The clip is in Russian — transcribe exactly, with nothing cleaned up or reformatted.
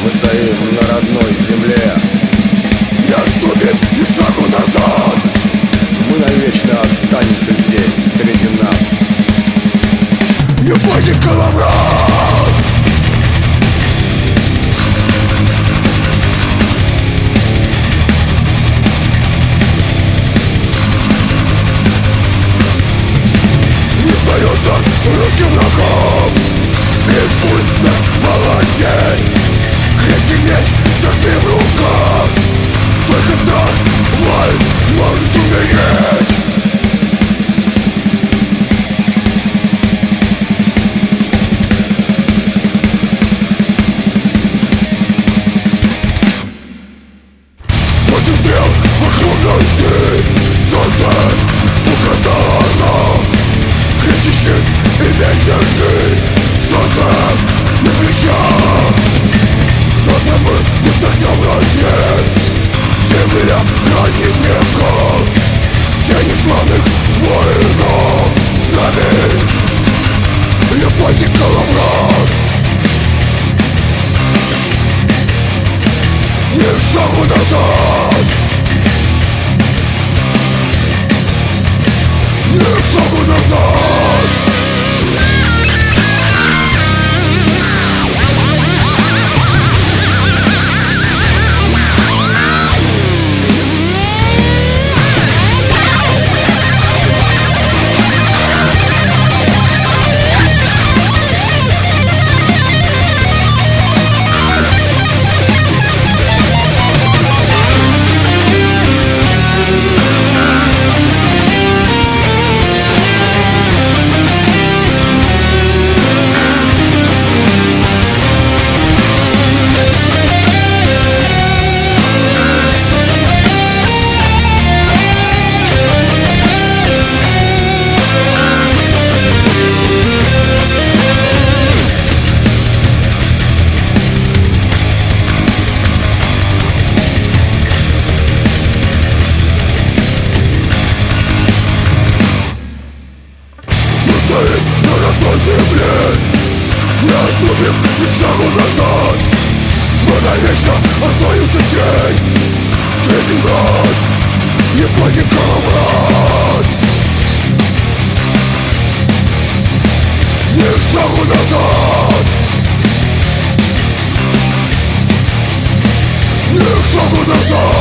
Мы стоим на родной земле. Не отступим ни шагу назад. Мы навечно останемся здесь, среди нас. Ебаный коловрат. Не сдается руки врагам. Импульсно молодец. Крепкий меч, согни в руках. Только так воин может умереть. Посмотрел окружности. Солнце указало нам. Кричащий и меч держи. Солнце на плечах. Завтра мы не вдохнем рассвет. Земля хранит веков. Тени славных воинов. С нами ебаный коловрат. Ни шагу назад. Ни шагу назад. На родной земле не отступим ни шагу назад. Мы навечно остаемся здесь, среди нас. Ебаный коловрат. Ни шагу назад. Ни шагу назад.